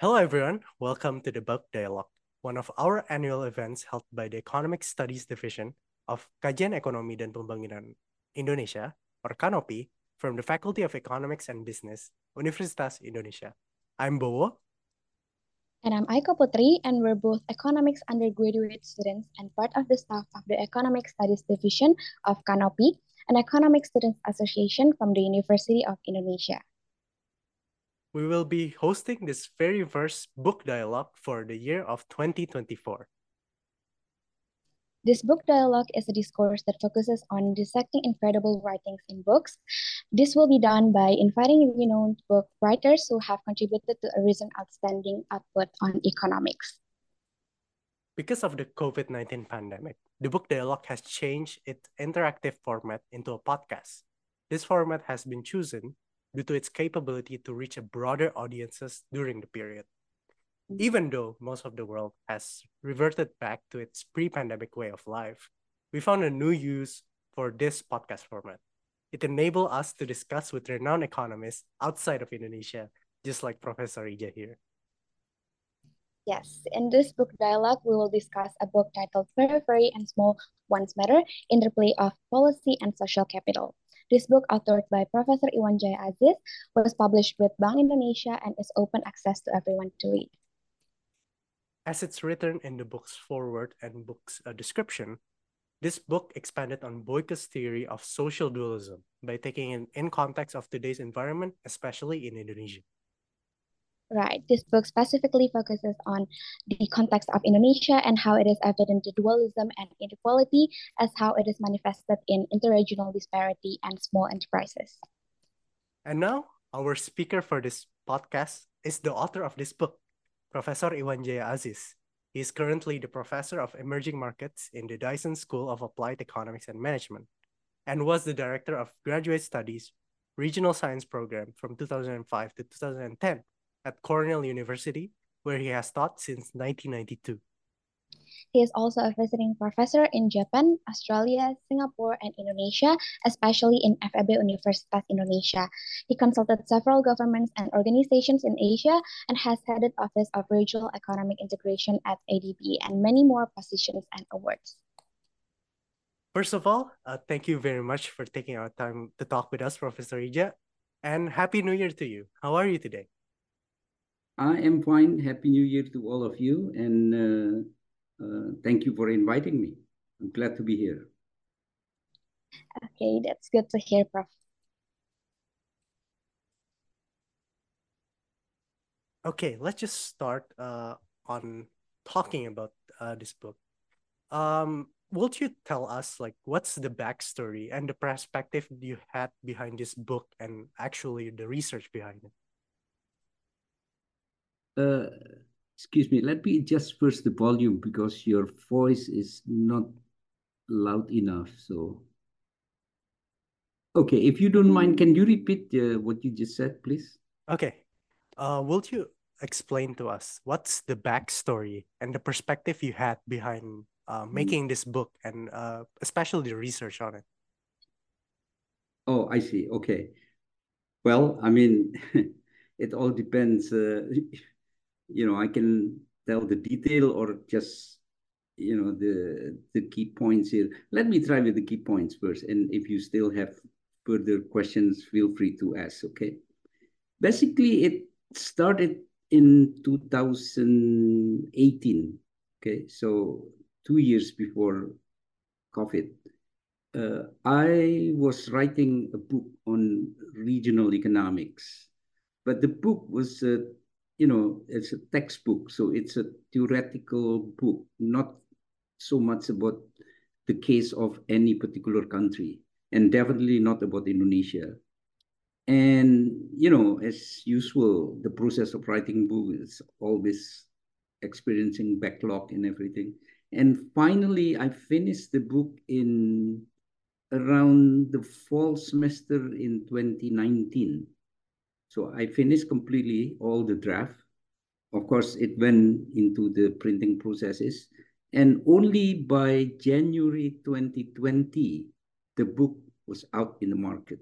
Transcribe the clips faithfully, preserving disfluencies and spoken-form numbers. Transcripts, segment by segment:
Hello, everyone. Welcome to the Book Dialogue, one of our annual events held by the Economic Studies Division of Kajian Ekonomi dan Pembangunan Indonesia, or Kanopi, from the Faculty of Economics and Business, Universitas Indonesia. I'm Bowo. And I'm Aiko Putri, and we're both economics undergraduate students and part of the staff of the Economic Studies Division of Kanopi, an economic students association from the University of Indonesia. We will be hosting this very first book dialogue for the year of twenty twenty-four. This book dialogue is a discourse that focuses on dissecting incredible writings in books. This will be done by inviting renowned book writers who have contributed to a recent outstanding output on economics. Because of the COVID nineteen pandemic, the book dialogue has changed its interactive format into a podcast. This format has been chosen due to its capability to reach a broader audiences during the period. Even though most of the world has reverted back to its pre-pandemic way of life, we found a new use for this podcast format. It enabled us to discuss with renowned economists outside of Indonesia, just like Professor Ija here. Yes, in this book dialogue, we will discuss a book titled Periphery and Small Ones Matter, Interplay of Policy and Social Capital. This book, authored by Professor Iwan Jaya Aziz, was published with Bank Indonesia and is open access to everyone to read. As it's written in the book's foreword and book's uh, description, this book expanded on Boyka's theory of social dualism by taking it in context of today's environment, especially in Indonesia. Right. This book specifically focuses on the context of Indonesia and how it is evident the dualism and inequality as how it is manifested in interregional disparity and small enterprises. And now, our speaker for this podcast is the author of this book, Professor Iwan Jaya Aziz. He is currently the professor of emerging markets in the Dyson School of Applied Economics and Management and was the director of graduate studies regional science program from two thousand five to two thousand ten at Cornell University, where he has taught since nineteen ninety-two. He is also a visiting professor in Japan, Australia, Singapore, and Indonesia, especially in F E B Universitas Indonesia. He consulted several governments and organizations in Asia and has headed Office of Regional Economic Integration at A D B and many more positions and awards. First of all, uh, thank you very much for taking our time to talk with us, Professor Ija, and Happy New Year to you. How are you today? I am fine. Happy New Year to all of you, and uh, uh, thank you for inviting me. I'm glad to be here. Okay, that's good to hear, Prof. Okay, let's just start uh, on talking about uh, this book. Um, would you tell us like what's the backstory and the perspective you had behind this book and actually the research behind it? Uh, excuse me, let me adjust first the volume because your voice is not loud enough. So, okay, if you don't mind, can you repeat uh, what you just said, please? Okay, uh, will you explain to us what's the backstory and the perspective you had behind uh, making this book and uh, especially the research on it? Oh, I see. Okay. Well, I mean, it all depends. Uh, you know, I can tell the detail or just, you know, the the key points here. Let me try with the key points first. And if you still have further questions, feel free to ask, okay? Basically, it started in two thousand eighteen, okay? So two years before COVID. Uh, I was writing a book on regional economics, but the book was, uh, you know, it's a textbook, so it's a theoretical book, not so much about the case of any particular country, and definitely not about Indonesia. And you know, as usual, the process of writing book is always experiencing backlog and everything. And finally, I finished the book in around the fall semester in twenty nineteen. So I finished completely all the draft. Of course, it went into the printing processes. And only by January twenty twenty, the book was out in the market.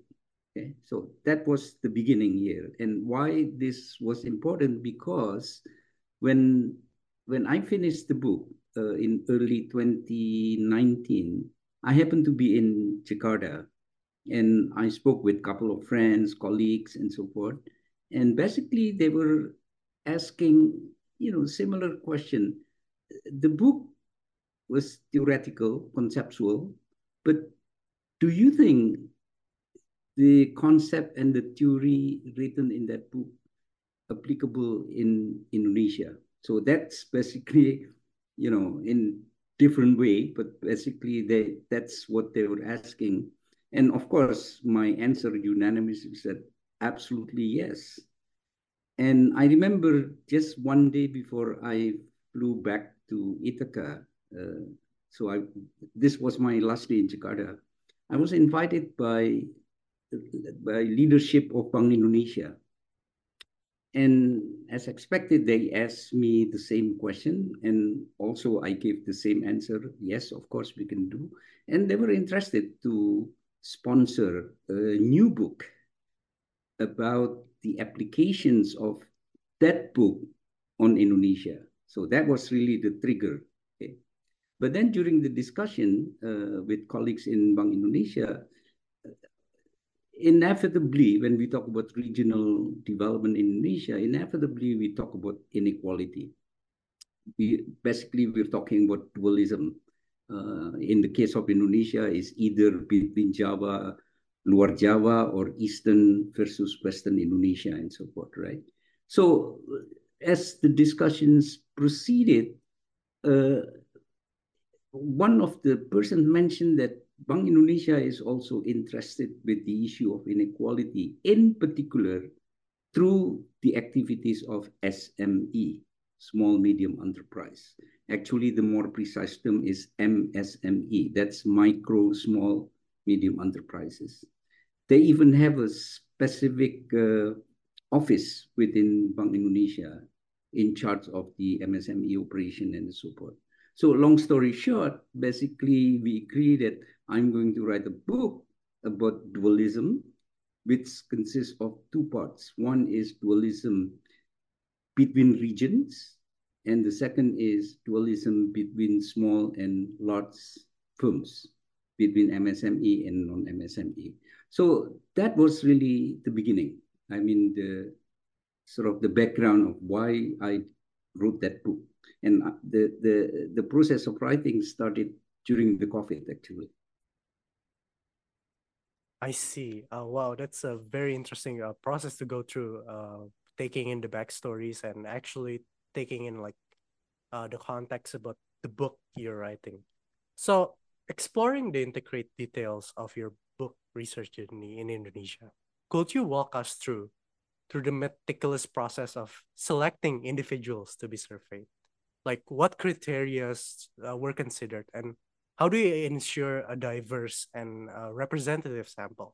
Okay, so that was the beginning here. And why this was important, because when when I finished the book uh, in early twenty nineteen, I happened to be in Jakarta, and I spoke with a couple of friends, colleagues, and so forth. And basically, they were asking, you know, similar question. The book was theoretical, conceptual, but do you think the concept and the theory written in that book applicable in Indonesia? So that's basically, you know, in different way, but basically they that's what they were asking. And of course, my answer unanimously said absolutely yes. And I remember just one day before I flew back to Ithaca, uh, so I this was my last day in Jakarta. I was invited by by leadership of Bank Indonesia. And as expected, they asked me the same question. And also I gave the same answer. Yes, of course we can do. And they were interested to sponsor a new book about the applications of that book on Indonesia. So that was really the trigger. Okay. But then during the discussion uh, with colleagues in Bank Indonesia, inevitably, when we talk about regional development in Indonesia, inevitably we talk about inequality. We basically we're talking about dualism. Uh, in the case of Indonesia, is either between Java, Luar Java, or Eastern versus Western Indonesia, and so forth, right? So as the discussions proceeded, uh, one of the persons mentioned that Bank Indonesia is also interested with the issue of inequality, in particular through the activities of S M E, small medium enterprise. Actually, the more precise term is M S M E, that's micro, small, medium enterprises. They even have a specific uh, office within Bank Indonesia in charge of the M S M E operation and so forth. So long story short, basically we agree that I'm going to write a book about dualism, which consists of two parts. One is dualism between regions, and the second is dualism between small and large firms, between M S M E and non-M S M E. So that was really the beginning. I mean, the sort of the background of why I wrote that book. And the, the, the process of writing started during the COVID, actually. I see. Uh, wow, that's a very interesting uh, process to go through, uh, taking in the backstories and actually taking in like uh, the context about the book you're writing. So, exploring the intricate details of your book research journey in Indonesia, could you walk us through through the meticulous process of selecting individuals to be surveyed? Like what criteria uh, were considered, and how do you ensure a diverse and uh, representative sample?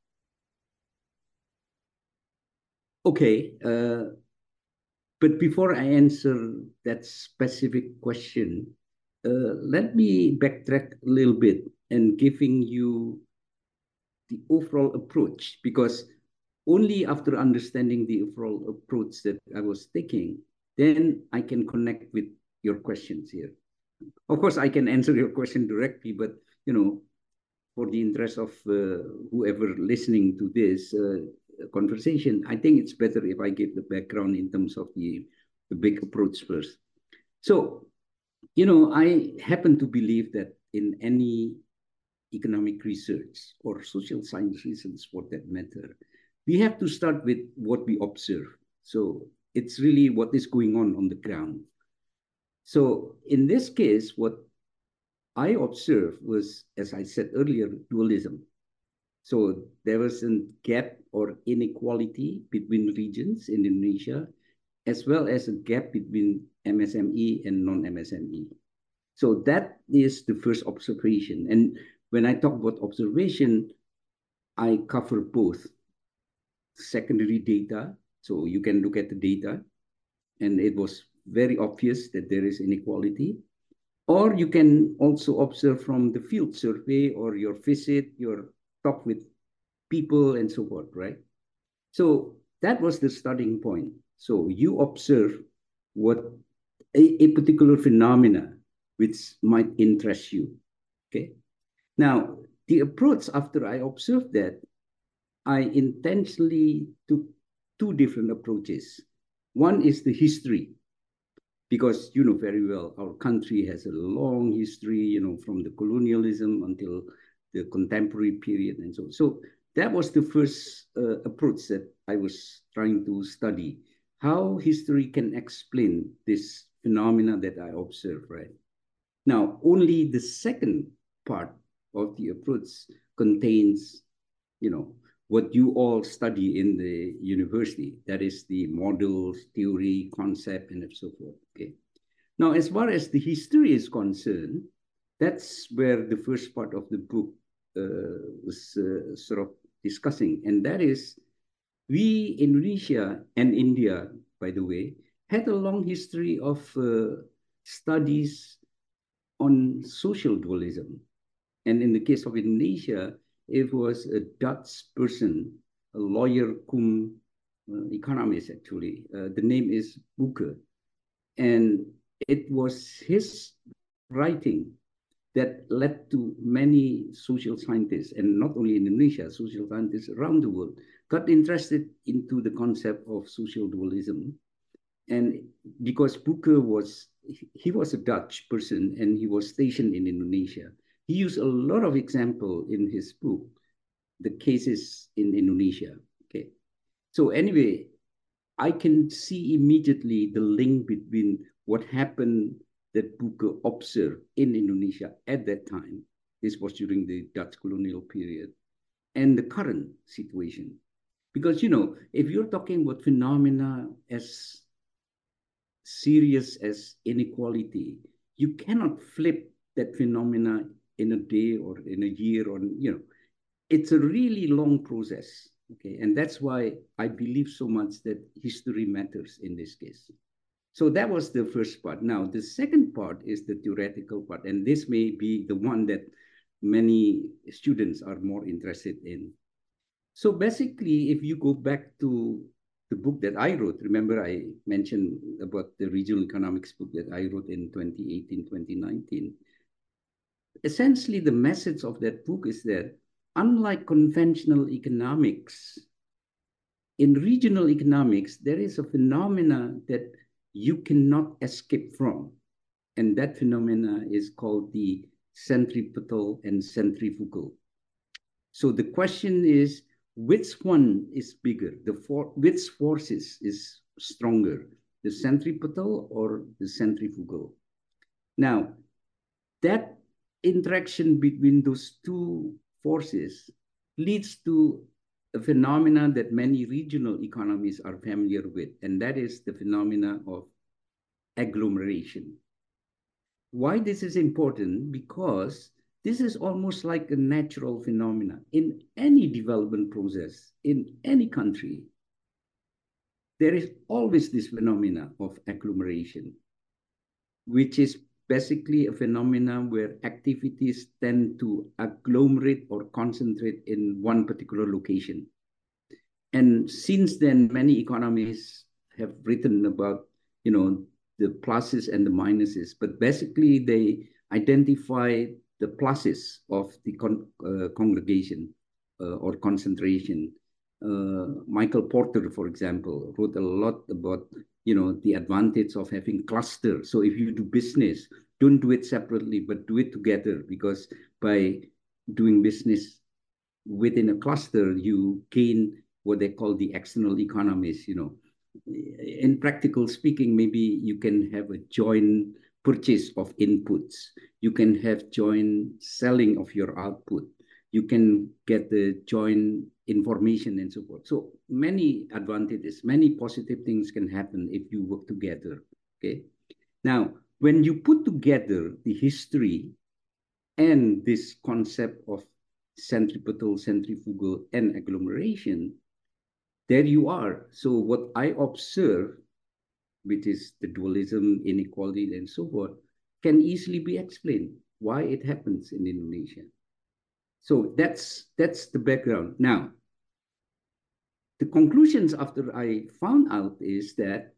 Okay, uh, but before I answer that specific question, uh, let me backtrack a little bit and giving you the overall approach, because only after understanding the overall approach that I was taking, then I can connect with your questions here. Of course, I can answer your question directly, but you know, for the interest of uh, whoever listening to this uh, conversation, I think it's better if I give the background in terms of the, the big approach first. So, you know, I happen to believe that in any economic research or social science research for that matter, we have to start with what we observe. So it's really what is going on on the ground. So in this case, what I observed was, as I said earlier, dualism. So there was a gap or inequality between regions in Indonesia, as well as a gap between M S M E and non-M S M E. So that is the first observation. And when I talk about observation, I cover both secondary data. So you can look at the data, and it was very obvious that there is inequality. Or you can also observe from the field survey or your visit, your talk with people, and so forth, right? So that was the starting point. So you observe what a, a particular phenomena which might interest you, okay? Now, the approach after I observed that, I intentionally took two different approaches. One is the history, because you know very well our country has a long history, you know, from the colonialism until the contemporary period and so on. So that was the first uh, approach that I was trying to study, how history can explain this phenomena that I observe, right? Now, only the second part of the approach contains, you know, what you all study in the university. That is the models, theory, concept, and so forth. Okay. Now, as far as the history is concerned, that's where the first part of the book uh, was uh, sort of discussing, and that is, we, Indonesia and India, by the way, had a long history of uh, studies on social dualism. And in the case of Indonesia, it was a Dutch person, a lawyer cum uh, economist, actually. Uh, the name is Booker. And it was his writing that led to many social scientists, and not only in Indonesia, social scientists around the world, got interested into the concept of social dualism. And because Booker was, he was a Dutch person and he was stationed in Indonesia, he used a lot of example in his book, the cases in Indonesia. Okay. So anyway, I can see immediately the link between what happened that Booker observed in Indonesia at that time. This was during the Dutch colonial period, and the current situation. Because, you know, if you're talking about phenomena as serious as inequality, you cannot flip that phenomena in a day or in a year, or, you know, it's a really long process. Okay, and that's why I believe so much that history matters in this case. So that was the first part. Now, the second part is the theoretical part, and this may be the one that many students are more interested in. So basically, if you go back to the book that I wrote, remember I mentioned about the regional economics book that I wrote in twenty eighteen, twenty nineteen. Essentially, the message of that book is that unlike conventional economics, in regional economics, there is a phenomena that you cannot escape from. And that phenomena is called the centripetal and centrifugal. So the question is, which one is bigger? The for, which forces is stronger, the centripetal or the centrifugal? Now, that interaction between those two forces leads to a phenomenon that many regional economies are familiar with, and that is the phenomena of agglomeration. Why this is important? Because this is almost like a natural phenomenon in any development process, in any country. There is always this phenomena of agglomeration, which is basically a phenomenon where activities tend to agglomerate or concentrate in one particular location. And since then, many economists have written about, you know, the pluses and the minuses, but basically they identify the pluses of the con uh, congregation uh, or concentration. Uh, Michael Porter, for example, wrote a lot about, you know, the advantage of having cluster. So if you do business, don't do it separately, but do it together, because by doing business within a cluster, you gain what they call the external economies. You know, in practical speaking, maybe you can have a joint purchase of inputs. You can have joint selling of your output. You can get the joint information and so forth. So many advantages, many positive things can happen if you work together. Okay. Now, when you put together the history and this concept of centripetal, centrifugal, and agglomeration, there you are. So what I observe, which is the dualism, inequality, and so forth, can easily be explained why it happens in Indonesia. So that's that's the background. Now, the conclusions after I found out is that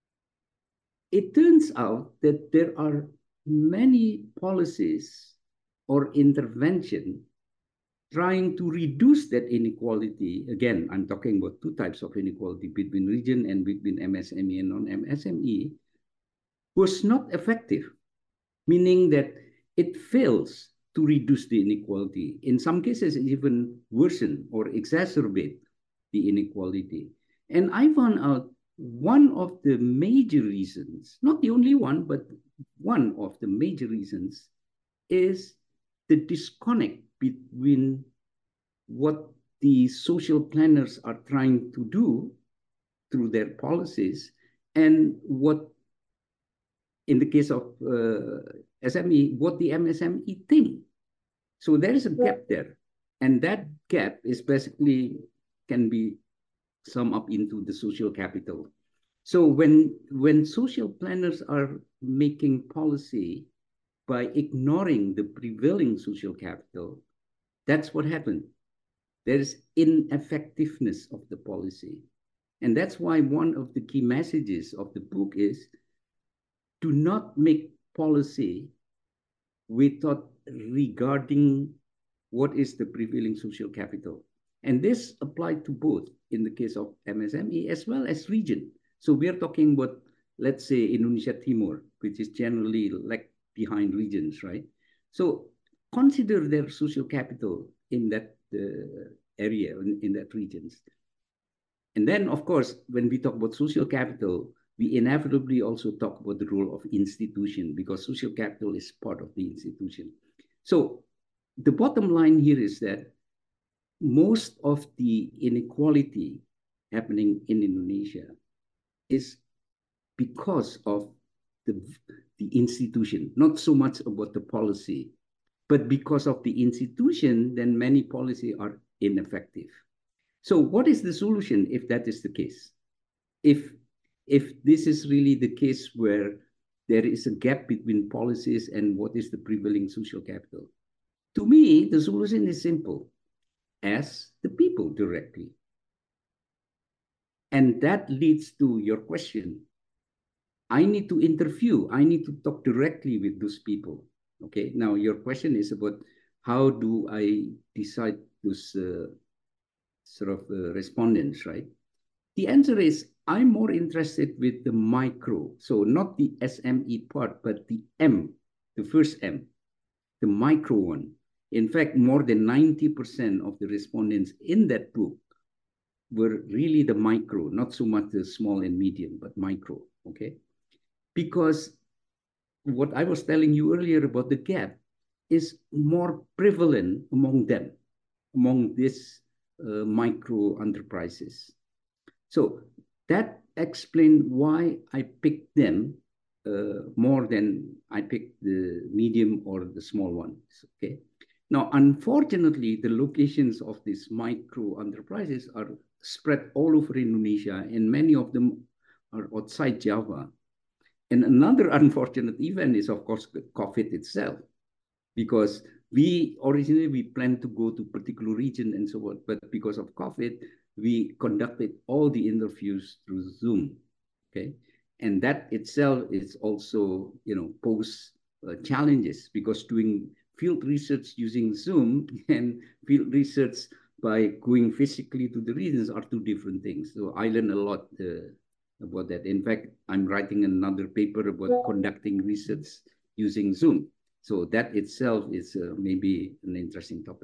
it turns out that there are many policies or intervention trying to reduce that inequality. Again, I'm talking about two types of inequality between region and between M S M E and non-M S M E, was not effective, meaning that it fails to reduce the inequality. In some cases, it even worsen or exacerbate the inequality. And I found out one of the major reasons, not the only one, but one of the major reasons is the disconnect between what the social planners are trying to do through their policies and what, in the case of uh, S M E, what the M S M E think. So there is a gap there. And that gap is basically can be summed up into the social capital. So when, when social planners are making policy by ignoring the prevailing social capital, that's what happened. There is ineffectiveness of the policy. And that's why one of the key messages of the book is do not make policy without regarding what is the prevailing social capital. And this applied to both in the case of M S M E as well as region. So we are talking about, let's say, Indonesia Timur, which is generally like behind regions, right? So consider their social capital in that uh, area, in, in that regions. And then, of course, when we talk about social capital, we inevitably also talk about the role of institution because social capital is part of the institution. So the bottom line here is that most of the inequality happening in Indonesia is because of the, the institution, not so much about the policy, but because of the institution, then many policies are ineffective. So what is the solution if that is the case? If, if this is really the case where there is a gap between policies and what is the prevailing social capital? To me, the solution is simple. Ask the people directly. And that leads to your question. I need to interview. I need to talk directly with those people. Okay, now your question is about how do I decide those uh, sort of uh, respondents, right? The answer is I'm more interested with the micro. So not the S M E part, but the M, the first M, the micro one. In fact, more than ninety percent of the respondents in that book were really the micro, not so much the small and medium, but micro, okay? Because what I was telling you earlier about the gap is more prevalent among them, among these uh, micro enterprises. So that explained why I picked them uh, more than I picked the medium or the small ones, okay? Now, unfortunately, the locations of these micro enterprises are spread all over Indonesia, and many of them are outside Java. And another unfortunate event is, of course, COVID itself, because we originally we planned to go to particular region and so on, but because of COVID, we conducted all the interviews through Zoom, okay? And that itself is also, you know, pose uh, challenges because doing field research using Zoom and field research by going physically to the regions are two different things. So I learned a lot uh, about that. In fact, I'm writing another paper about conducting research using Zoom. So that itself is uh, maybe an interesting topic.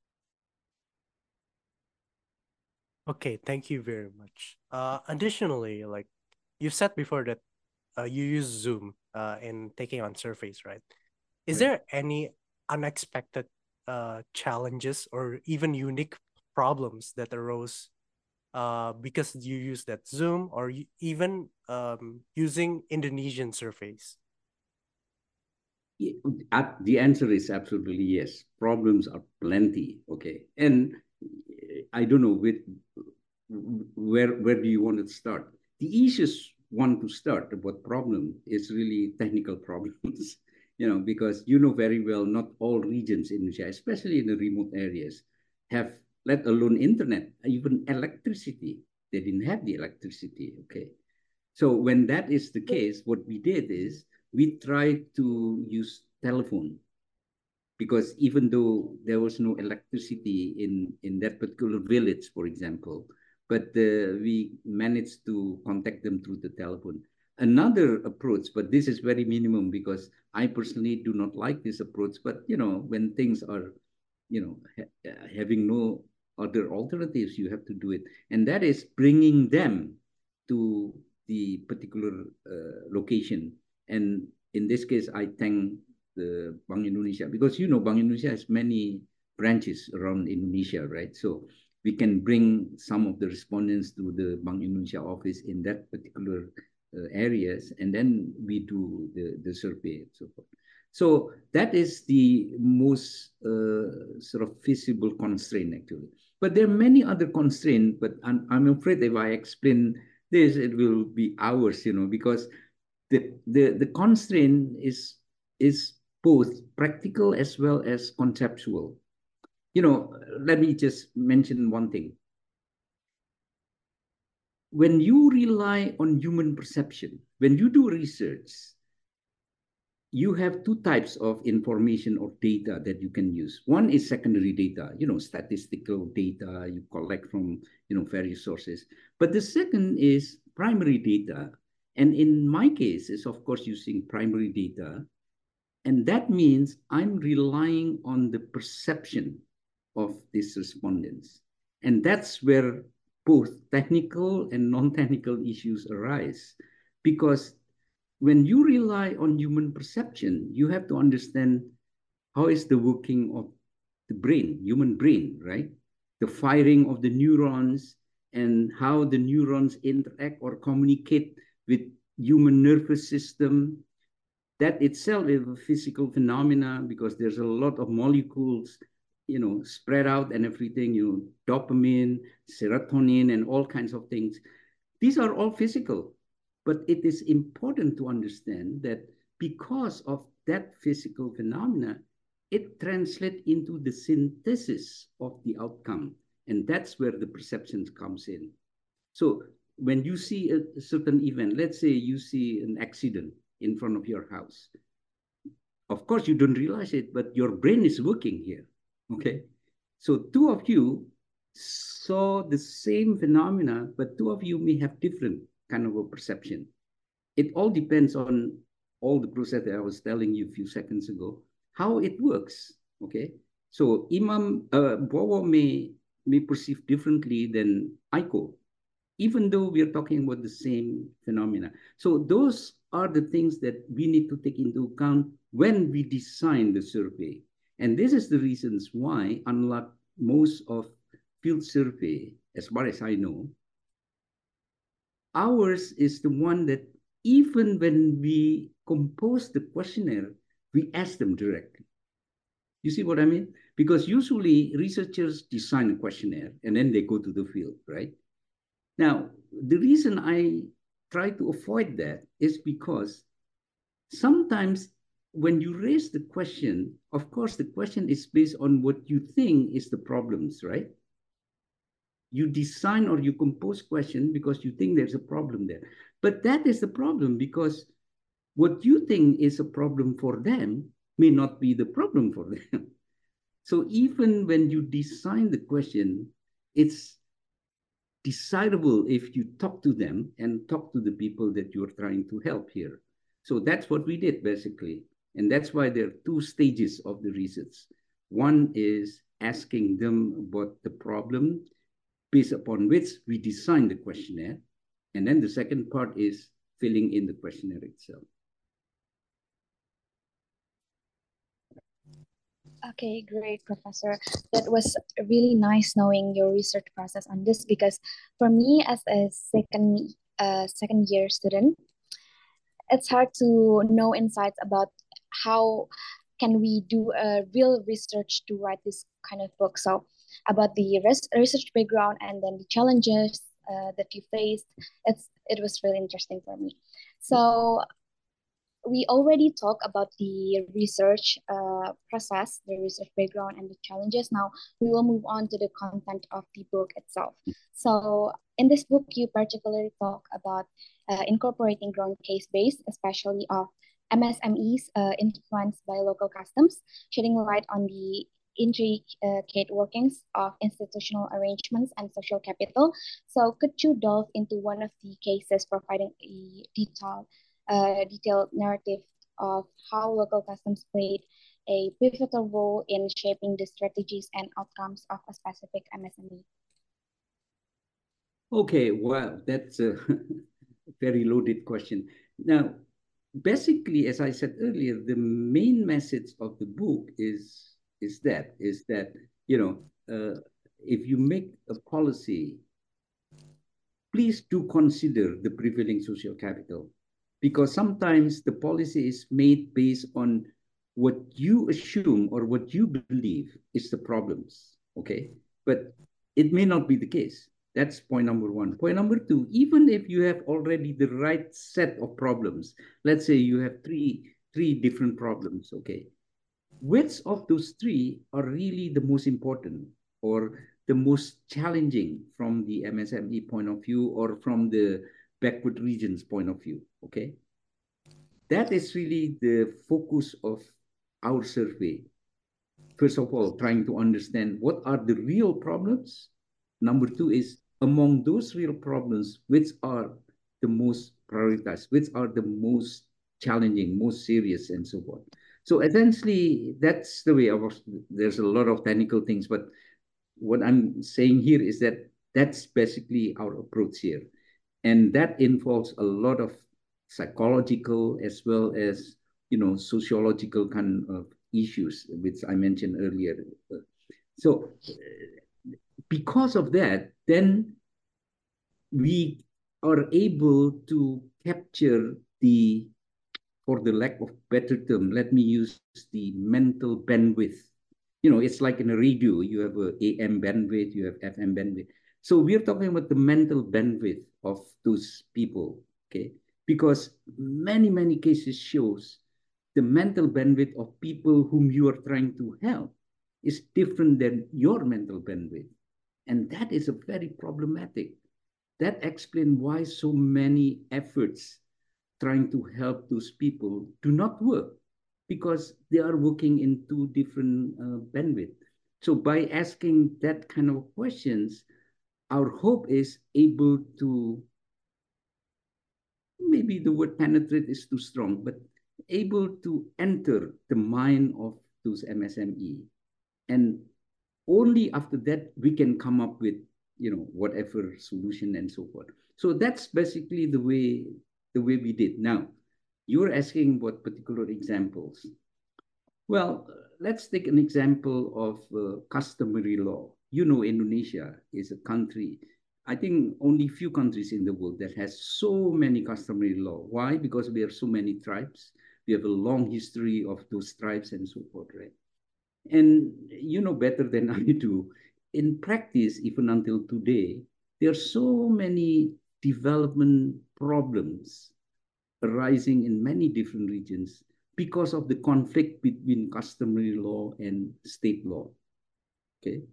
Okay, thank you very much. Uh, additionally, like you said before that uh, you use Zoom uh, in taking on surveys, right? Is Right. there any unexpected uh, challenges or even unique problems that arose uh, because you use that Zoom or you, even um, using Indonesian surveys? Yeah, the answer is absolutely yes. Problems are plenty, okay? And I don't know with where where do you want to start? The easiest one to start about problem is really technical problems, you know, because you know very well not all regions in Indonesia, especially in the remote areas, have let alone internet, even electricity. They didn't have the electricity, okay? So when that is the case, what we did is we tried to use telephone, because even though there was no electricity in, in that particular village, for example, but uh, we managed to contact them through the telephone. Another approach, but this is very minimum because I personally do not like this approach, but you know, when things are, you know, ha having no other alternatives, you have to do it. And that is bringing them to the particular uh, location. And in this case, I thank the Bank Indonesia, because you know Bank Indonesia has many branches around Indonesia, right? So we can bring some of the respondents to the Bank Indonesia office in that particular uh, areas, and then we do the, the survey and so forth. So that is the most uh, sort of feasible constraint, actually. But there are many other constraints, but I'm, I'm afraid if I explain this, it will be hours, you know, because the, the, the constraint is, is both practical as well as conceptual. You know, let me just mention one thing. When you rely on human perception, when you do research, you have two types of information or data that you can use. One is secondary data, you know, statistical data you collect from, you know, various sources. But the second is primary data. And in my case, is of course using primary data. And that means I'm relying on the perception of these respondents. And that's where both technical and non-technical issues arise. Because when you rely on human perception, you have to understand how is the working of the brain, human brain, right? The firing of the neurons and how the neurons interact or communicate with human nervous system. That itself is a physical phenomena because there's a lot of molecules, you know, spread out and everything, you know, dopamine, serotonin, and all kinds of things. These are all physical. But it is important to understand that because of that physical phenomena, it translates into the synthesis of the outcome. And that's where the perception comes in. So when you see a, a certain event, let's say you see an accident in front of your house. Of course, you don't realize it, but your brain is working here, okay? So two of you saw the same phenomena, but two of you may have different kind of a perception. It all depends on all the process that I was telling you a few seconds ago, how it works, okay? So Imam uh, Bowo may, may perceive differently than Aiko, even though we are talking about the same phenomena. So those are the things that we need to take into account when we design the survey. And this is the reasons why, unlike most of field survey, as far as I know, ours is the one that even when we compose the questionnaire, we ask them directly. You see what I mean? Because usually researchers design a questionnaire and then they go to the field, right? Now, the reason I try to avoid that is because sometimes when you raise the question, of course, the question is based on what you think is the problems, right? You design or you compose question because you think there's a problem there. But that is the problem because what you think is a problem for them may not be the problem for them. So even when you design the question, it's desirable if you talk to them and talk to the people that you're trying to help here. So that's what we did basically. And that's why there are two stages of the research. One is asking them about the problem based upon which we design the questionnaire. And then the second part is filling in the questionnaire itself. Okay, great, Professor. That was really nice knowing your research process on this because for me as a second uh, second year student, it's hard to know insights about how can we do a real research to write this kind of book. So about the res research background and then the challenges uh, that you faced, it's it was really interesting for me. So we already talked about the research uh, process, the research background, and the challenges. Now we will move on to the content of the book itself. So in this book, you particularly talk about uh, incorporating ground case base, especially of M S M Es uh, influenced by local customs, shedding light on the intricate workings of institutional arrangements and social capital. So could you delve into one of the cases, providing a detailed a detailed narrative of how local customs played a pivotal role in shaping the strategies and outcomes of a specific M S M E? Okay, well, that's a very loaded question. Now, basically, as I said earlier, the main message of the book is is that is that you know uh, if you make a policy, please do consider the prevailing social capital, because sometimes the policy is made based on what you assume or what you believe is the problems, okay? But it may not be the case. That's point number one. Point number two, even if you have already the right set of problems, let's say you have three, three different problems, okay? Which of those three are really the most important or the most challenging from the M S M E point of view or from the backward regions point of view? Okay. That is really the focus of our survey. First of all, trying to understand what are the real problems. Number two is among those real problems, which are the most prioritized, which are the most challenging, most serious, and so forth. So essentially, that's the way I was. There's a lot of technical things, but what I'm saying here is that that's basically our approach here. And that involves a lot of psychological as well as, you know, sociological kind of issues, which I mentioned earlier. So because of that, then we are able to capture the, for the lack of better term, let me use the mental bandwidth. You know, it's like in a radio, you have a A M bandwidth, you have F M bandwidth. So we're talking about the mental bandwidth of those people, okay? Because many, many cases shows the mental bandwidth of people whom you are trying to help is different than your mental bandwidth. And that is a very problematic. That explains why so many efforts trying to help those people do not work, because they are working in two different uh, bandwidth. So by asking that kind of questions, our hope is able to, maybe the word penetrate is too strong, but able to enter the mind of those M S M E. And only after that we can come up with, you know, whatever solution and so forth. So that's basically the way the way we did. Now, you're asking what particular examples. Well, let's take an example of uh, customary law. You know, Indonesia is a country, I think only few countries in the world that has so many customary law. Why? Because we have so many tribes. We have a long history of those tribes and so forth, right? And you know better than I do, in practice, even until today, there are so many development problems arising in many different regions because of the conflict between customary law and state law. Okay.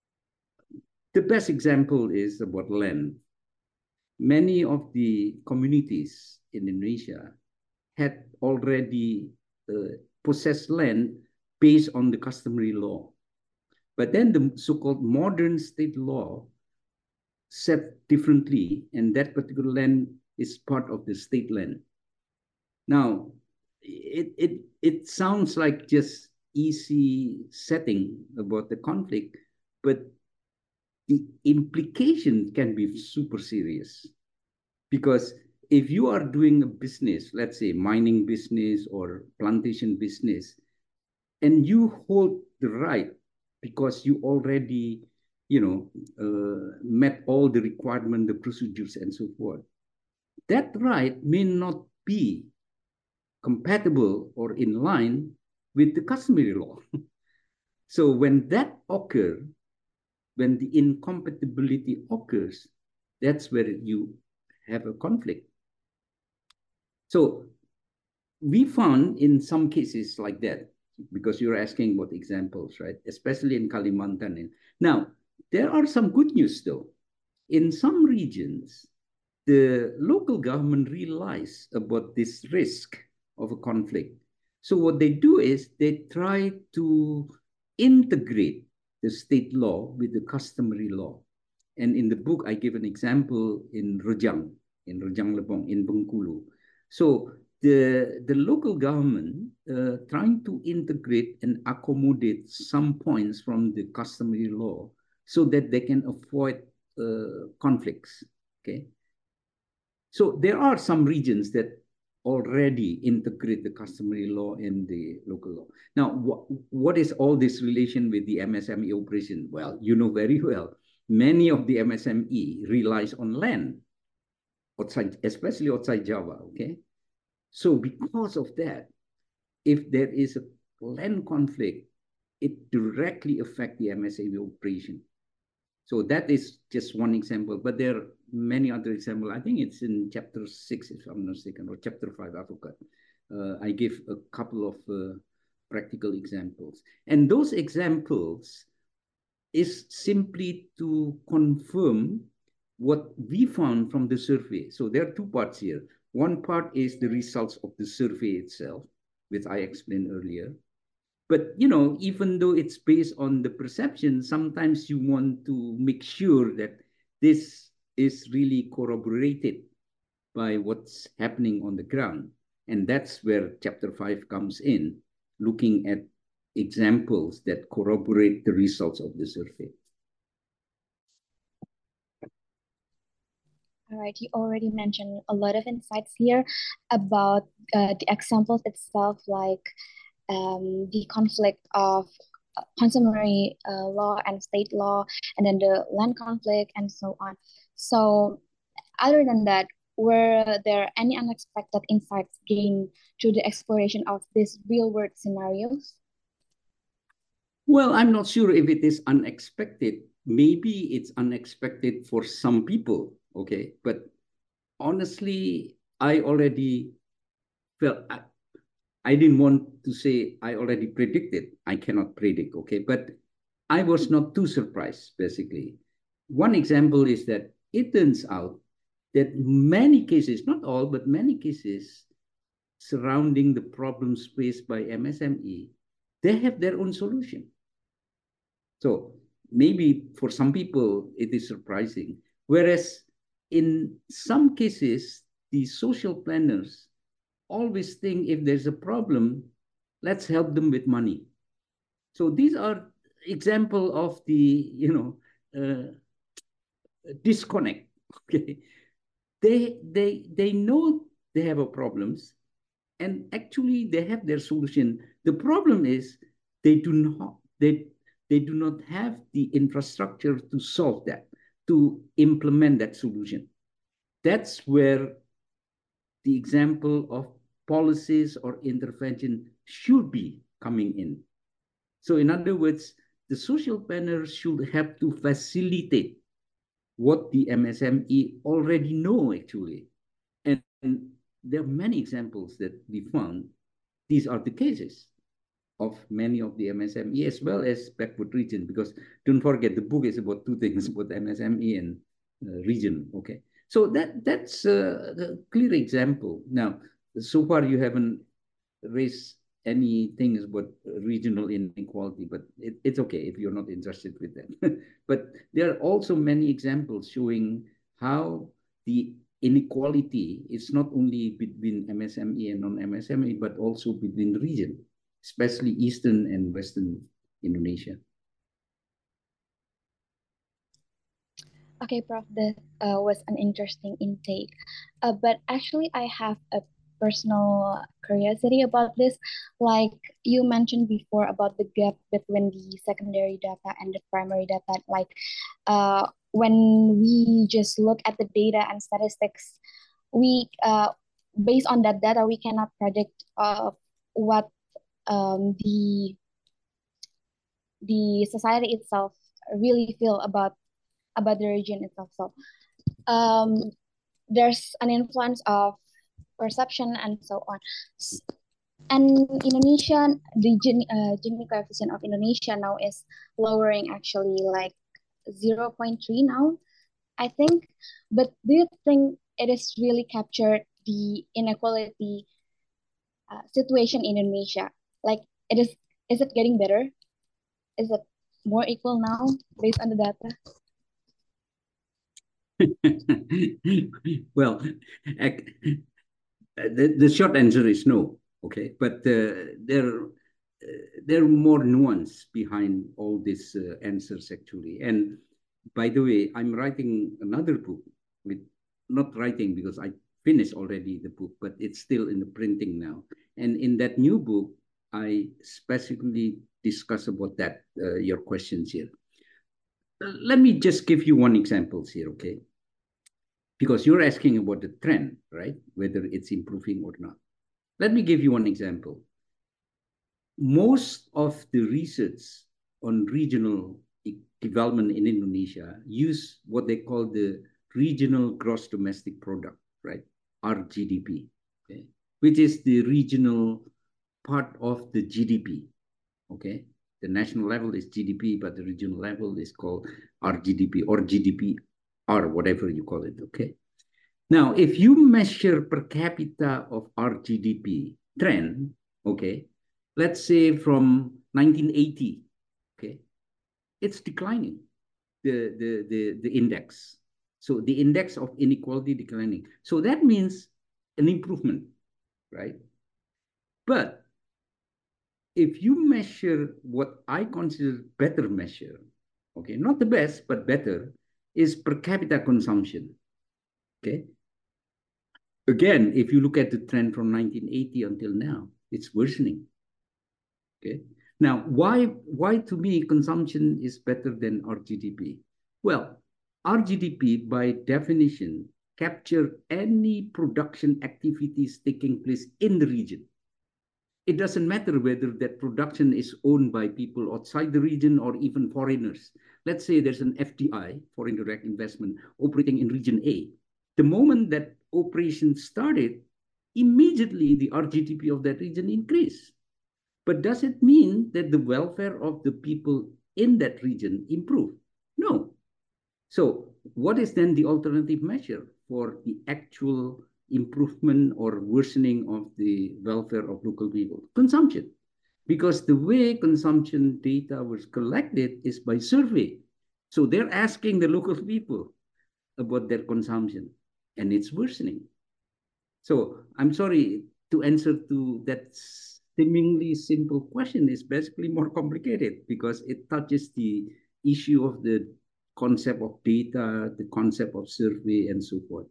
The best example is about land. Many of the communities in Indonesia had already uh, possessed land based on the customary law. But then the so-called modern state law said differently, and that particular land is part of the state land. Now, it, it, it sounds like just easy setting about the conflict, but the implication can be super serious. Because if you are doing a business, let's say mining business or plantation business, and you hold the right because you already, you know, uh, met all the requirements, the procedures, and so forth, that right may not be compatible or in line with the customary law. So when that occurs, when the incompatibility occurs, that's where you have a conflict. So we found in some cases like that, because you're asking about examples, right? Especially in Kalimantan. Now, there are some good news though. In some regions, the local government realize about this risk of a conflict. So what they do is they try to integrate the state law with the customary law. And in the book, I give an example in Rejang, in Rejang Lebong, in Bengkulu. So the, the local government uh, trying to integrate and accommodate some points from the customary law so that they can avoid uh, conflicts, okay? So there are some regions that already integrate the customary law and the local law. Now, what, what is all this relation with the M S M E operation? Well, you know very well, many of the M S M E relies on land, outside, especially outside Java, okay? So because of that, if there is a land conflict, it directly affects the M S M E operation. So that is just one example, but there are many other examples. I think it's in chapter six, if I'm not mistaken, or chapter five, I forgot. Uh, I give a couple of uh, practical examples. And those examples is simply to confirm what we found from the survey. So there are two parts here. One part is the results of the survey itself, which I explained earlier. But, you know, even though it's based on the perception, sometimes you want to make sure that this is really corroborated by what's happening on the ground. And that's where chapter five comes in, looking at examples that corroborate the results of the survey. All right, you already mentioned a lot of insights here about uh, the examples itself, like um, the conflict of customary uh, law and state law, and then the land conflict, and so on. So, other than that, were there any unexpected insights gained through the exploration of these real-world scenarios? Well, I'm not sure if it is unexpected. Maybe it's unexpected for some people, okay? But honestly, I already felt, I, I didn't want to say I already predicted. I cannot predict, okay? But I was not too surprised, basically. One example is that it turns out that many cases, not all, but many cases surrounding the problems faced by M S M E, they have their own solution. So maybe for some people, it is surprising. Whereas in some cases, the social planners always think if there's a problem, let's help them with money. So these are example of the, you know, uh, disconnect. Okay, they they they know they have a problems, and actually they have their solution. The problem is they do not they they do not have the infrastructure to solve that, to implement that solution. That's where the example of policies or intervention should be coming in. So in other words, the social planners should have to facilitate what the M S M E already know, actually. And, and there are many examples that we found. These are the cases of many of the M S M E as well as backward region, because don't forget, the book is about two things, about M S M E and uh, region, okay? So that that's uh, a clear example. Now, so far you haven't raised any things about regional inequality, but it, it's okay if you're not interested with that. But there are also many examples showing how the inequality is not only between M S M E and non-M S M E, but also between the region, especially Eastern and Western Indonesia. Okay, Prof, that uh, was an interesting intake. Uh, but actually, I have a personal curiosity about this. Like you mentioned before about the gap between the secondary data and the primary data. Like uh, when we just look at the data and statistics, we uh, based on that data, we cannot predict uh, what um, the the society itself really feel about about the region itself. So um, there's an influence of perception, and so on. And Indonesia, the Gini, uh, Gini coefficient of Indonesia now is lowering actually like zero point three now, I think. But do you think it is really captured the inequality uh, situation in Indonesia? Like, it is, is it getting better? Is it more equal now based on the data? Well, the, the short answer is no. Okay, but uh, there uh, there are more nuance behind all these uh, answers actually. And by the way, I'm writing another book with not writing because I finished already the book, but it's still in the printing now. And in that new book, I specifically discuss about that uh, your questions here. Let me just give you one example here, okay? Because you're asking about the trend, right? Whether it's improving or not. Let me give you one example. Most of the research on regional development in Indonesia use what they call the regional gross domestic product, right? R G D P, okay? Which is the regional part of the G D P, okay? The national level is G D P, but the regional level is called R G D P or G D P or whatever you call it, okay? Now, if you measure per capita of R G D P trend, okay, let's say from nineteen eighty, okay, it's declining, the, the, the, the index. So the index of inequality declining. So that means an improvement, right? But if you measure what I consider better measure, okay, not the best, but better, is per capita consumption, okay? Again, if you look at the trend from nineteen eighty until now, it's worsening, okay? Now, why, why to me consumption is better than R G D P? Well, R G D P by definition capture any production activities taking place in the region. It doesn't matter whether that production is owned by people outside the region or even foreigners. Let's say there's an F D I, foreign direct investment, operating in region A. The moment that operation started, immediately the R G D P of that region increased. But does it mean that the welfare of the people in that region improve? No. So what is then the alternative measure for the actual improvement or worsening of the welfare of local people? Consumption. Because the way consumption data was collected is by survey. So they're asking the local people about their consumption, and it's worsening. So I'm sorry, to answer to that seemingly simple question is basically more complicated because it touches the issue of the concept of data, the concept of survey, and so forth.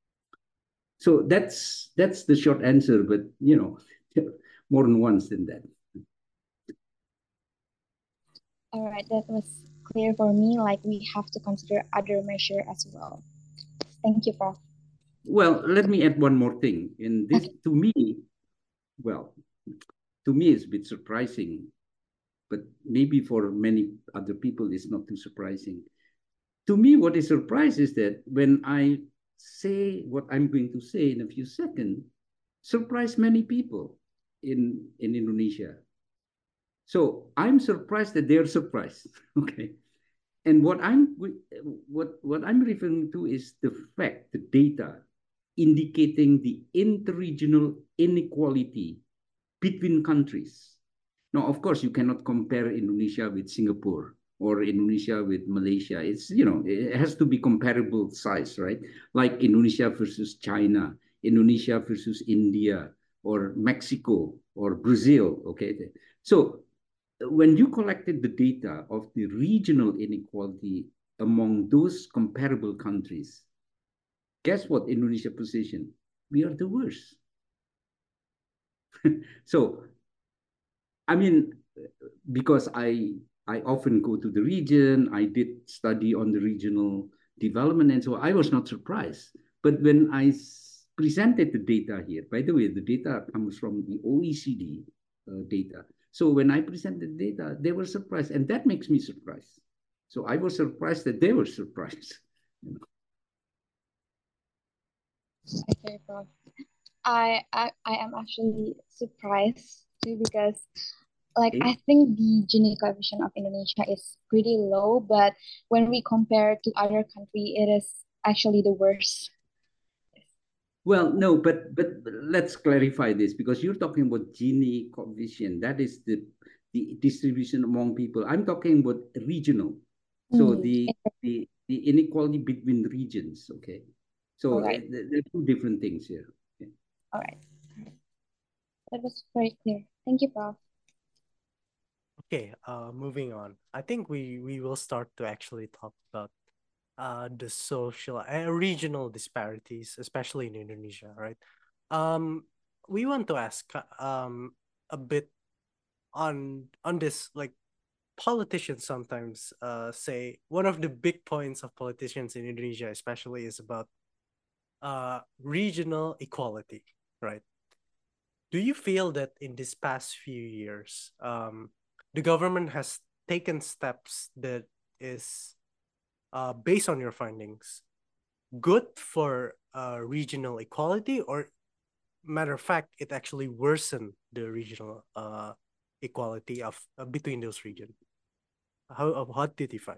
So that's that's the short answer, but you know, more nuanced than that. All right, that was clear for me. Like, we have to consider other measure as well. Thank you, Prof. Well, let me add one more thing. In this, okay. To me, well, to me it's a bit surprising, but maybe for many other people it's not too surprising. To me, what is surprising is that when I say what I'm going to say in a few seconds, surprise many people in, in Indonesia. So I'm surprised that they're surprised, okay? And what I'm, what, what I'm referring to is the fact, the data, indicating the interregional inequality between countries. Now, of course, you cannot compare Indonesia with Singapore or Indonesia with Malaysia. It's, you know, it has to be comparable size, right? Like Indonesia versus China, Indonesia versus India, or Mexico, or Brazil, okay? So when you collected the data of the regional inequality among those comparable countries, guess what Indonesia position? We are the worst. So, I mean, because I I often go to the region, I did study on the regional development, and so I was not surprised. But when I presented the data here, by the way, the data comes from the O E C D uh, data. So when I presented the data, they were surprised, and that makes me surprised. So I was surprised that they were surprised. You know? Okay, Prof. I, I I am actually surprised too because like Okay. I think the Gini coefficient of Indonesia is pretty low, but when we compare to other country, it is actually the worst. Well, no, but but let's clarify this because you're talking about Gini coefficient. That is the the distribution among people. I'm talking about regional. So Hmm. the the the inequality between regions. Okay. All So uh, right, there are two different things here. Okay. all right. That was very clear. Thank you, Prof. Okay, uh, moving on. I think we we will start to actually talk about uh the social uh, regional disparities, especially in Indonesia, right? Um, we want to ask uh, um a bit on on this, like politicians sometimes uh say one of the big points of politicians in Indonesia, especially, is about uh regional equality, right? Do you feel that in this past few years, um, the government has taken steps that is, uh, based on your findings, good for uh, regional equality, or matter of fact, it actually worsened the regional uh, equality of uh, between those regions? How uh, what did you find?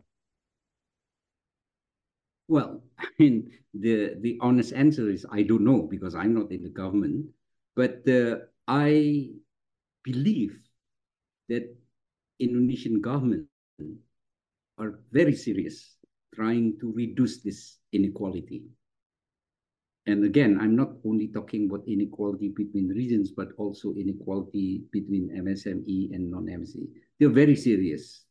Well, I mean, the the honest answer is I don't know because I'm not in the government, but uh, I believe that Indonesian government are very serious trying to reduce this inequality. And again, I'm not only talking about inequality between regions, but also inequality between M S M E and non-M S M E. They're very serious.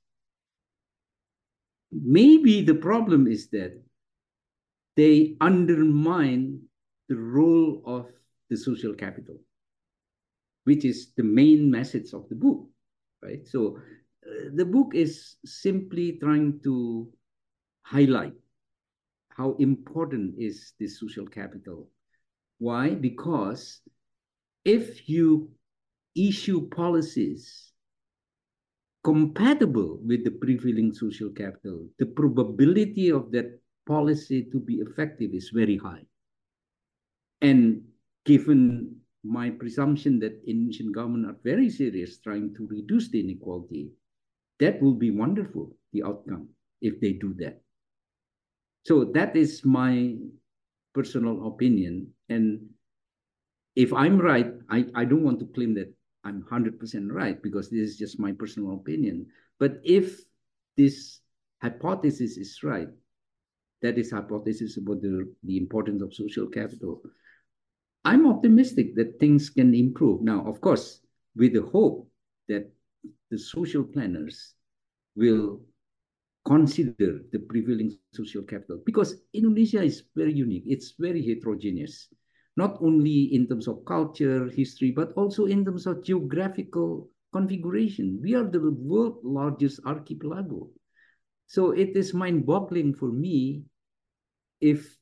Maybe the problem is that they undermine the role of the social capital, which is the main message of the book, right? So uh, the book is simply trying to highlight how important is this social capital. Why? Because if you issue policies compatible with the prevailing social capital, the probability of that policy to be effective is very high. And given my presumption that Indonesian government are very serious trying to reduce the inequality, that will be wonderful, the outcome, if they do that. So that is my personal opinion. And if I'm right, I, I don't want to claim that I'm one hundred percent right because this is just my personal opinion. But if this hypothesis is right, that is hypothesis about the, the importance of social capital, I'm optimistic that things can improve. Now, of course, with the hope that the social planners will consider the prevailing social capital because Indonesia is very unique. It's very heterogeneous, not only in terms of culture, history, but also in terms of geographical configuration. We are the world's largest archipelago. So it is mind-boggling for me if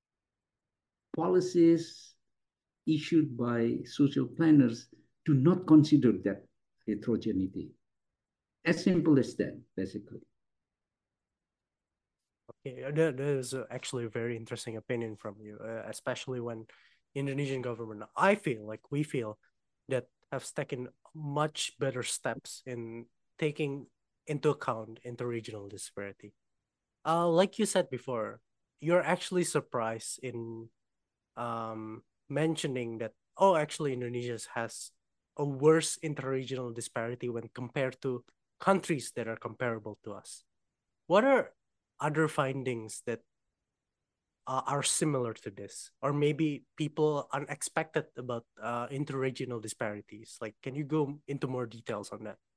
policies issued by social planners do not consider that heterogeneity. As simple as that, basically. Okay, uh, that, that is uh, actually a very interesting opinion from you, uh, especially when Indonesian government, I feel like we feel that have taken much better steps in taking into account interregional disparity. Uh, like you said before, you're actually surprised in um, mentioning that, oh, actually, Indonesia has a worse interregional disparity when compared to countries that are comparable to us. What are other findings that uh, are similar to this, or maybe people unexpected about uh, interregional disparities? Like, can you go into more details on that?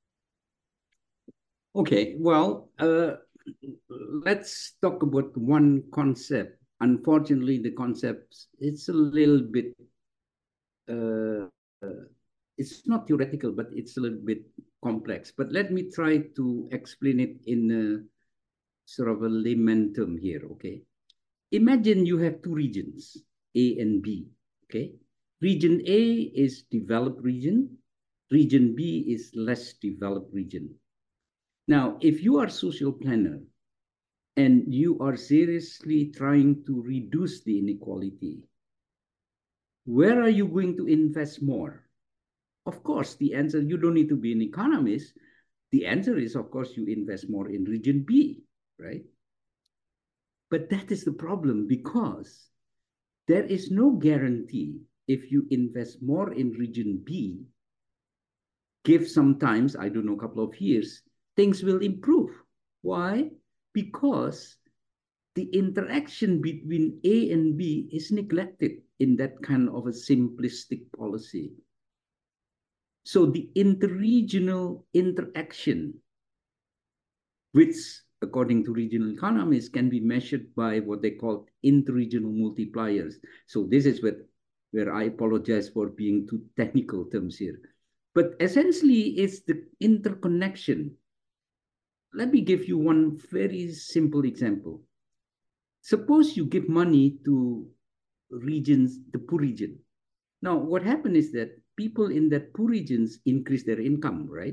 Okay, well, uh, let's talk about one concept. Unfortunately, the concept it's a little bit uh, it's not theoretical, but it's a little bit complex. But let me try to explain it in a sort of a layman term here. Okay, imagine you have two regions, A and B. Okay, region A is developed region, region B is less developed region. Now, if you are social planner and you are seriously trying to reduce the inequality, where are you going to invest more? Of course, the answer, you don't need to be an economist. The answer is, of course, you invest more in region B, right? But that is the problem, because there is no guarantee if you invest more in region B, give sometimes, I don't know, a couple of years, things will improve. Why? Because the interaction between A and B is neglected in that kind of a simplistic policy. So the interregional interaction, which according to regional economists can be measured by what they call interregional multipliers. So this is what, where I apologize for being too technical terms here. But essentially, it's the interconnection. Let me give you one very simple example. Suppose you give money to regions, the poor region. Now, what happened is that people in that poor regions increase their income, right?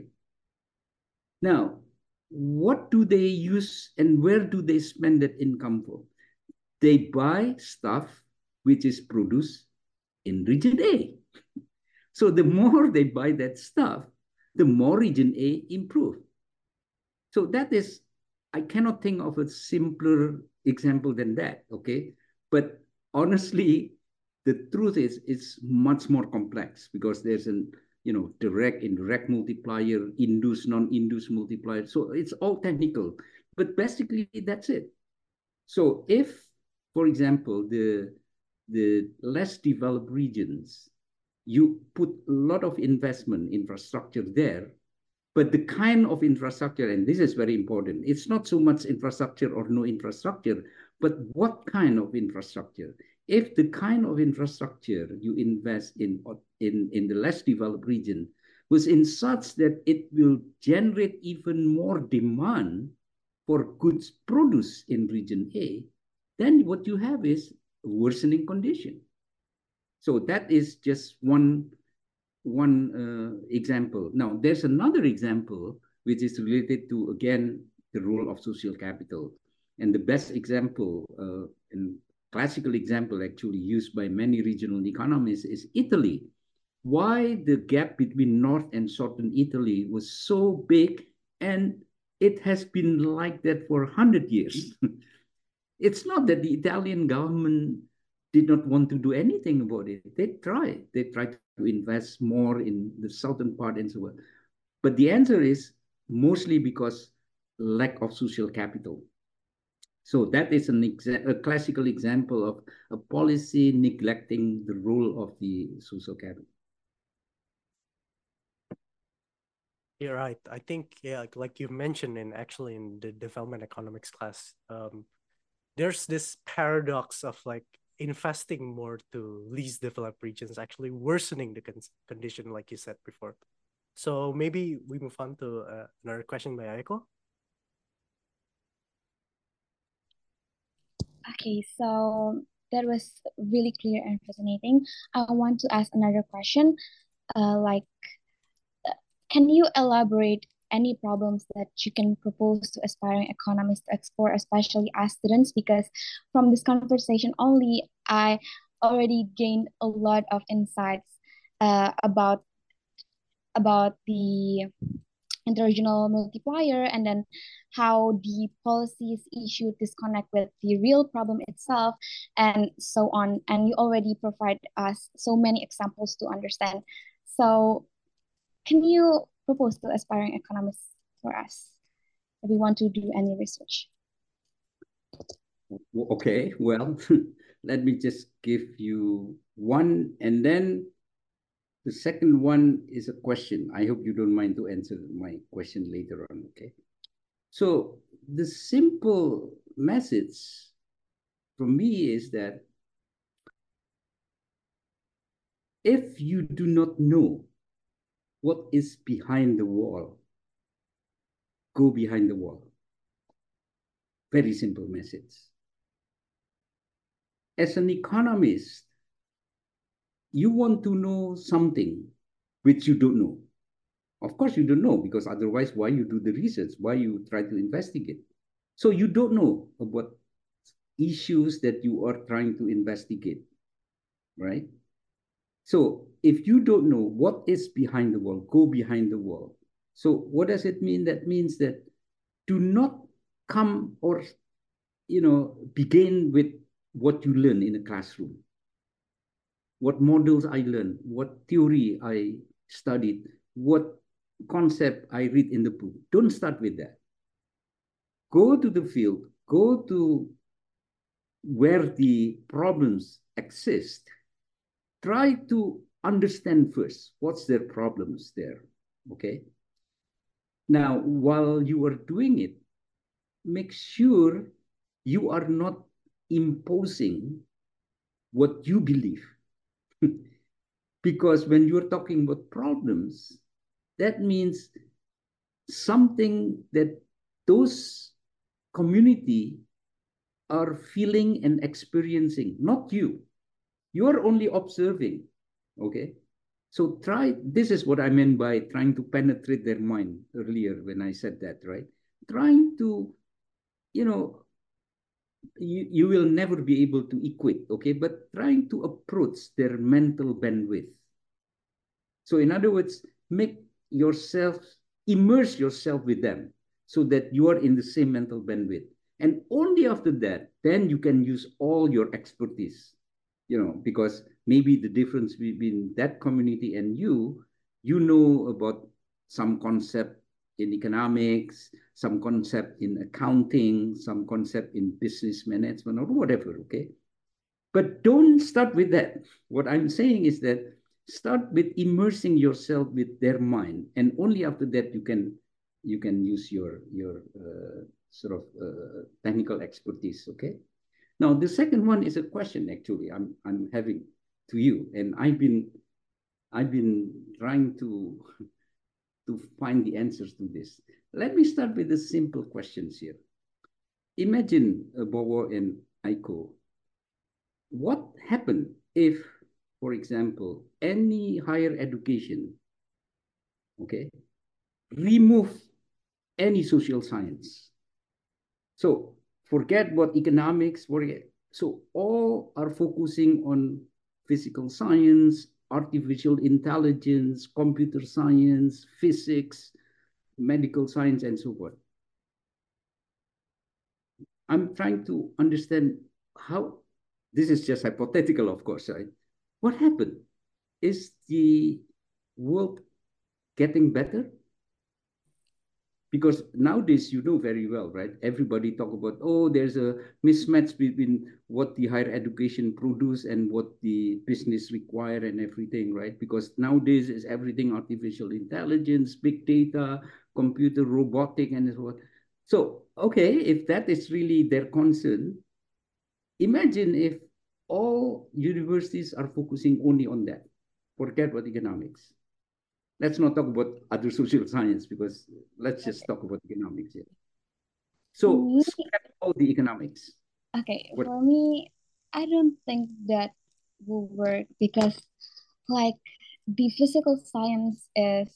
Now, what do they use and where do they spend that income for? They buy stuff which is produced in region A. So the more they buy that stuff, the more region A improve. So that is, I cannot think of a simpler example than that, okay? But honestly, the truth is it's much more complex, because there's an, you know, direct, indirect multiplier, induced, non-induced multiplier. So it's all technical, but basically that's it. So if, for example, the, the less developed regions, you put a lot of investment infrastructure there, but the kind of infrastructure, and this is very important, it's not so much infrastructure or no infrastructure, but what kind of infrastructure? If the kind of infrastructure you invest in, in, in the less developed region was in such that it will generate even more demand for goods produced in region A, then what you have is a worsening condition. So that is just one one uh, example. Now, there's another example which is related to, again, the role of social capital. And the best example, uh, and classical example actually used by many regional economists, is Italy. Why the gap between North and Southern Italy was so big, and it has been like that for one hundred years. It's not that the Italian government did not want to do anything about it. They tried. They tried to invest more in the southern part and so on. But the answer is mostly because lack of social capital. So that is an exa- a classical example of a policy neglecting the role of the social capital. You're right. I think, yeah, like, like you mentioned in actually in the development economics class, um, there's this paradox of like investing more to least developed regions actually worsening the con- condition, like you said before. So maybe we move on to uh, another question by Aiko. Okay, so that was really clear and fascinating. I want to ask another question. Uh, like, can you elaborate any problems that you can propose to aspiring economists to explore, especially as students? Because from this conversation only, I already gained a lot of insights uh, about about the interregional multiplier, and then how the policies issued disconnect with the real problem itself, and so on. And you already provide us so many examples to understand. So can you propose to aspiring economists for us if we want to do any research? Okay, well, let me just give you one, and then the second one is a question. I hope you don't mind to answer my question later on, okay? So the simple message from me is that if you do not know what is behind the wall, go behind the wall. Very simple message. As an economist, you want to know something which you don't know. Of course, you don't know, because otherwise, why you do the research? Why you try to investigate? So you don't know about issues that you are trying to investigate, right? So if you don't know what is behind the wall, go behind the wall. So what does it mean? That means that do not come or, you know, begin with what you learn in a classroom, what models I learned, what theory I studied, what concept I read in the book. Don't start with that. Go to the field, go to where the problems exist. Try to understand first what's their problems there, okay? Now, while you are doing it, make sure you are not imposing what you believe. Because when you're talking about problems, that means something that those community are feeling and experiencing, not you. You are only observing, okay? So try, this is what I meant by trying to penetrate their mind earlier when I said that, right? Trying to, you know, you, you will never be able to equate, okay? But trying to approach their mental bandwidth. So in other words, make yourself, immerse yourself with them so that you are in the same mental bandwidth. And only after that, then you can use all your expertise, you know, because maybe the difference between that community and you, you know about some concept in economics, some concept in accounting, some concept in business management or whatever, okay? But don't start with that. What I'm saying is that start with immersing yourself with their mind, and only after that you can you can use your your uh, sort of uh, technical expertise. Okay. Now the second one is a question actually I'm I'm having to you, and I've been I've been trying to to find the answers to this. Let me start with the simple questions here. Imagine uh, Bowo and Aiko. What happened if, for example, any higher education, okay, remove any social science? So forget what economics, forget. So all are focusing on physical science, artificial intelligence, computer science, physics, medical science, and so forth. I'm trying to understand how, this is just hypothetical, of course, right? What happened? Is the world getting better? Because nowadays, you know very well, right? Everybody talk about, oh, there's a mismatch between what the higher education produce and what the business require and everything, right? Because nowadays is everything artificial intelligence, big data, computer, robotic, and so on. So, okay, if that is really their concern, imagine if all universities are focusing only on that. Forget about economics. Let's not talk about other social science because let's just Okay. talk about economics here. For So me, scrap all the economics. okay, What? for me, I don't think that will work because like the physical science is,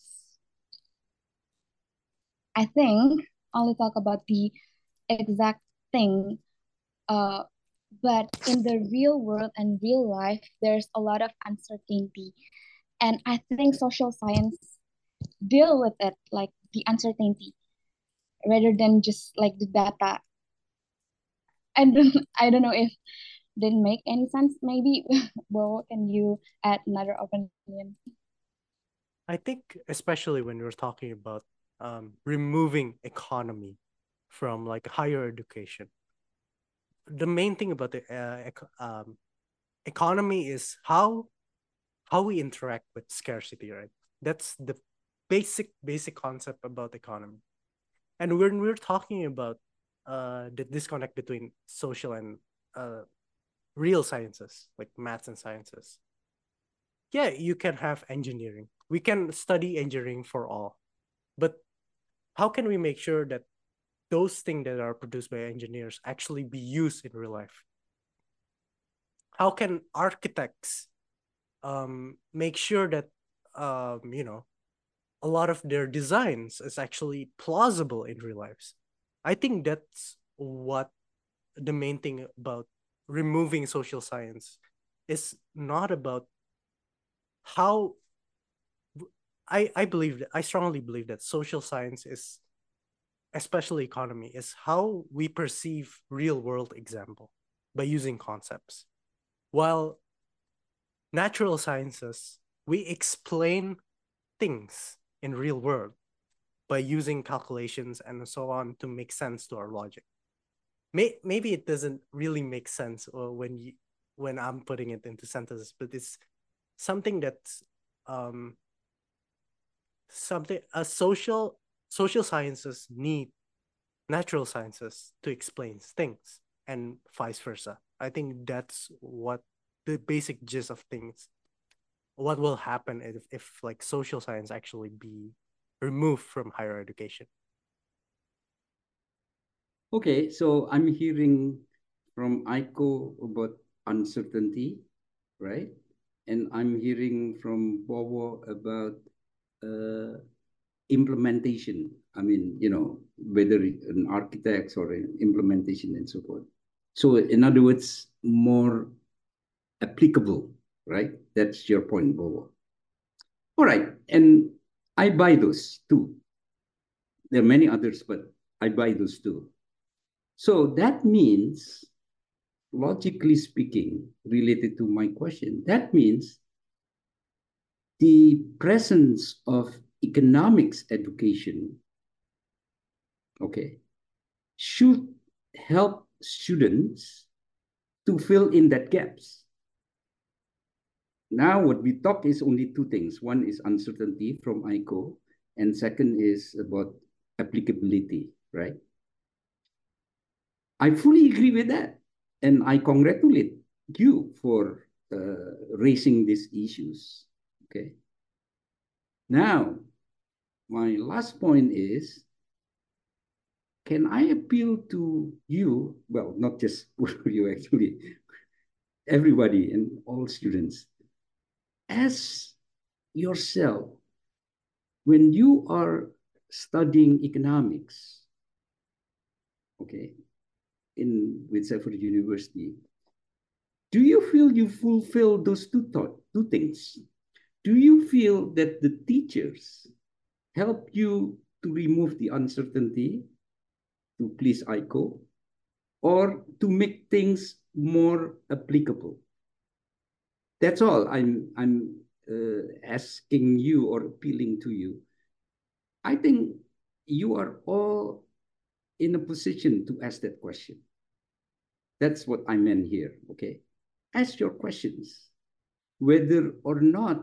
I think, only talk about the exact thing. Uh, but in the real world and real life, there's a lot of uncertainty. And I think social science deal with it, like the uncertainty, rather than just like the data. I don't, I don't know if didn't make any sense. Maybe, well, can you add another opinion? I think especially when we're talking about um, removing economy from like higher education, the main thing about the uh, ec- um, economy is how how we interact with scarcity, right? That's the basic basic concept about economy. And when we're talking about uh, the disconnect between social and uh, real sciences, like maths and sciences, yeah, you can have engineering. We can study engineering for all, but how can we make sure that those things that are produced by engineers actually be used in real life? How can architects um, make sure that um, you know a lot of their designs is actually plausible in real lives? I think that's what the main thing about removing social science is not about how I, I believe that I strongly believe that social science is, especially economy, is how we perceive real world example by using concepts. While natural sciences, we explain things in real world by using calculations and so on to make sense to our logic. May, maybe it doesn't really make sense or when you when I'm putting it into sentences, but it's something that's um something a social social sciences need natural sciences to explain things and vice versa. I think that's what the basic gist of things. What will happen if, if like social science actually be removed from higher education? Okay, so I'm hearing from Aiko about uncertainty, right? And I'm hearing from Bobo about uh, implementation. I mean, you know, whether an architect or an implementation and so forth. So in other words, more applicable, right? That's your point, Bobo. All right, and I buy those too. There are many others, but I buy those too. So that means, logically speaking, related to my question, that means the presence of economics education, okay, should help students to fill in that gaps. Now, what we talk is only two things. One is uncertainty from Aiko, and second is about applicability, right? I fully agree with that. And I congratulate you for uh, raising these issues. Okay. Now, my last point is, can I appeal to you? Well, not just you actually, everybody and all students. As yourself, when you are studying economics, okay, in with Stanford University, do you feel you fulfill those two thought, two things? Do you feel that the teachers help you to remove the uncertainty to please Aiko, or to make things more applicable? That's all I'm I'm uh, asking you or appealing to you. I think you are all in a position to ask that question. That's what I meant here. Okay, ask your questions, whether or not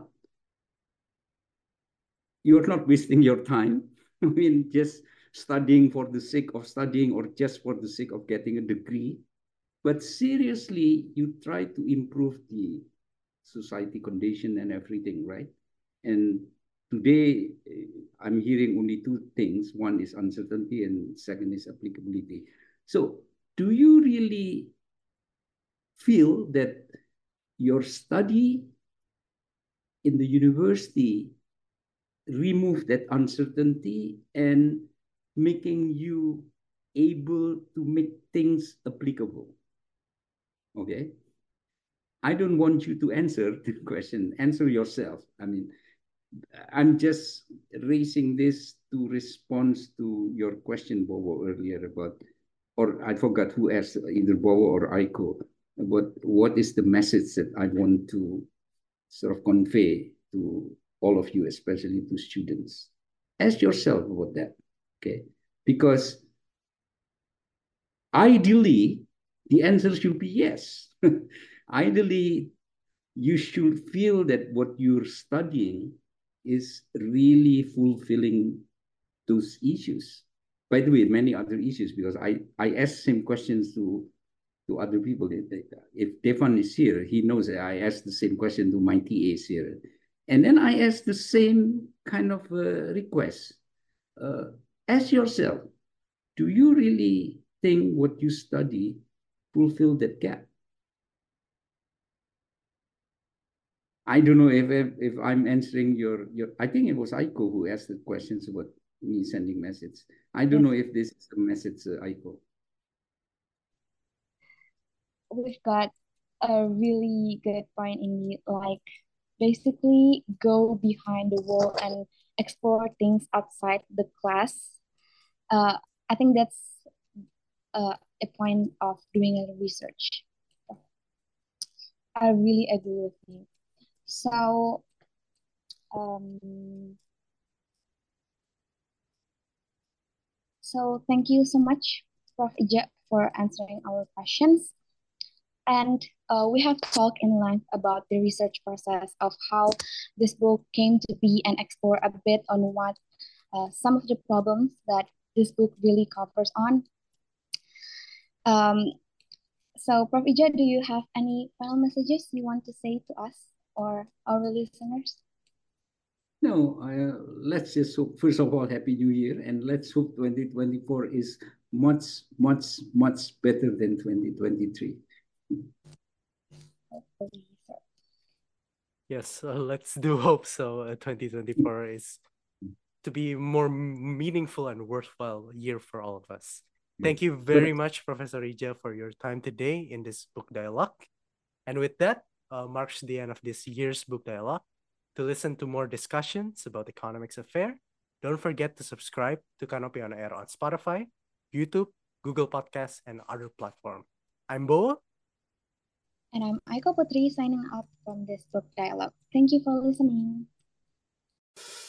you're not wasting your time. I mean, just studying for the sake of studying or just for the sake of getting a degree. But seriously, you try to improve the society condition and everything, right? And today, I'm hearing only two things. One is uncertainty and second is applicability. So do you really feel that your study in the university remove that uncertainty and making you able to make things applicable? Okay. I don't want you to answer the question. Answer yourself. I mean, I'm just raising this to respond to your question, Bobo, earlier about, or I forgot who asked, either Bobo or Aiko, about what is the message that I want to sort of convey to all of you, especially to students. Ask yourself about that, okay? Because ideally, the answer should be yes. Ideally, you should feel that what you're studying is really fulfilling those issues. By the way, many other issues, because I, I asked same questions to, to other people. If Stefan is here, he knows that I asked the same question to my T As here. And then I asked the same kind of uh, request. Uh, ask yourself, do you really think what you study fulfill that gap? I don't know if, if if I'm answering your your. I think it was Aiko who asked the questions about me sending message. I don't Yes, know if this is a message, uh, Aiko. we've got a really good point in the like basically go behind the wall and explore things outside the class. Uh, I think that's uh, a point of doing a research. I really agree with you. So, um, so thank you so much, Prof Ija, for answering our questions. And uh, we have talked in length about the research process of how this book came to be and explore a bit on what uh, some of the problems that this book really covers on. Um, so, Prof Ija, do you have any final messages you want to say to us or our listeners? No, uh, let's just hope, first of all, Happy New Year, and let's hope twenty twenty-four is much, much, much better than twenty twenty-three. Hopefully, so. Yes, uh, let's do hope so. Uh, twenty twenty-four is to be more meaningful and worthwhile year for all of us. Thank you very Good. much, Professor Ija, for your time today in this book dialogue. And with that, uh, marks the end of this year's book dialogue. To listen to more discussions about economics affair, don't forget to subscribe to Canopy on Air on Spotify, YouTube, Google Podcasts, and other platforms. I'm Bo. And I'm Aiko Putri signing off from this book dialogue. Thank you for listening.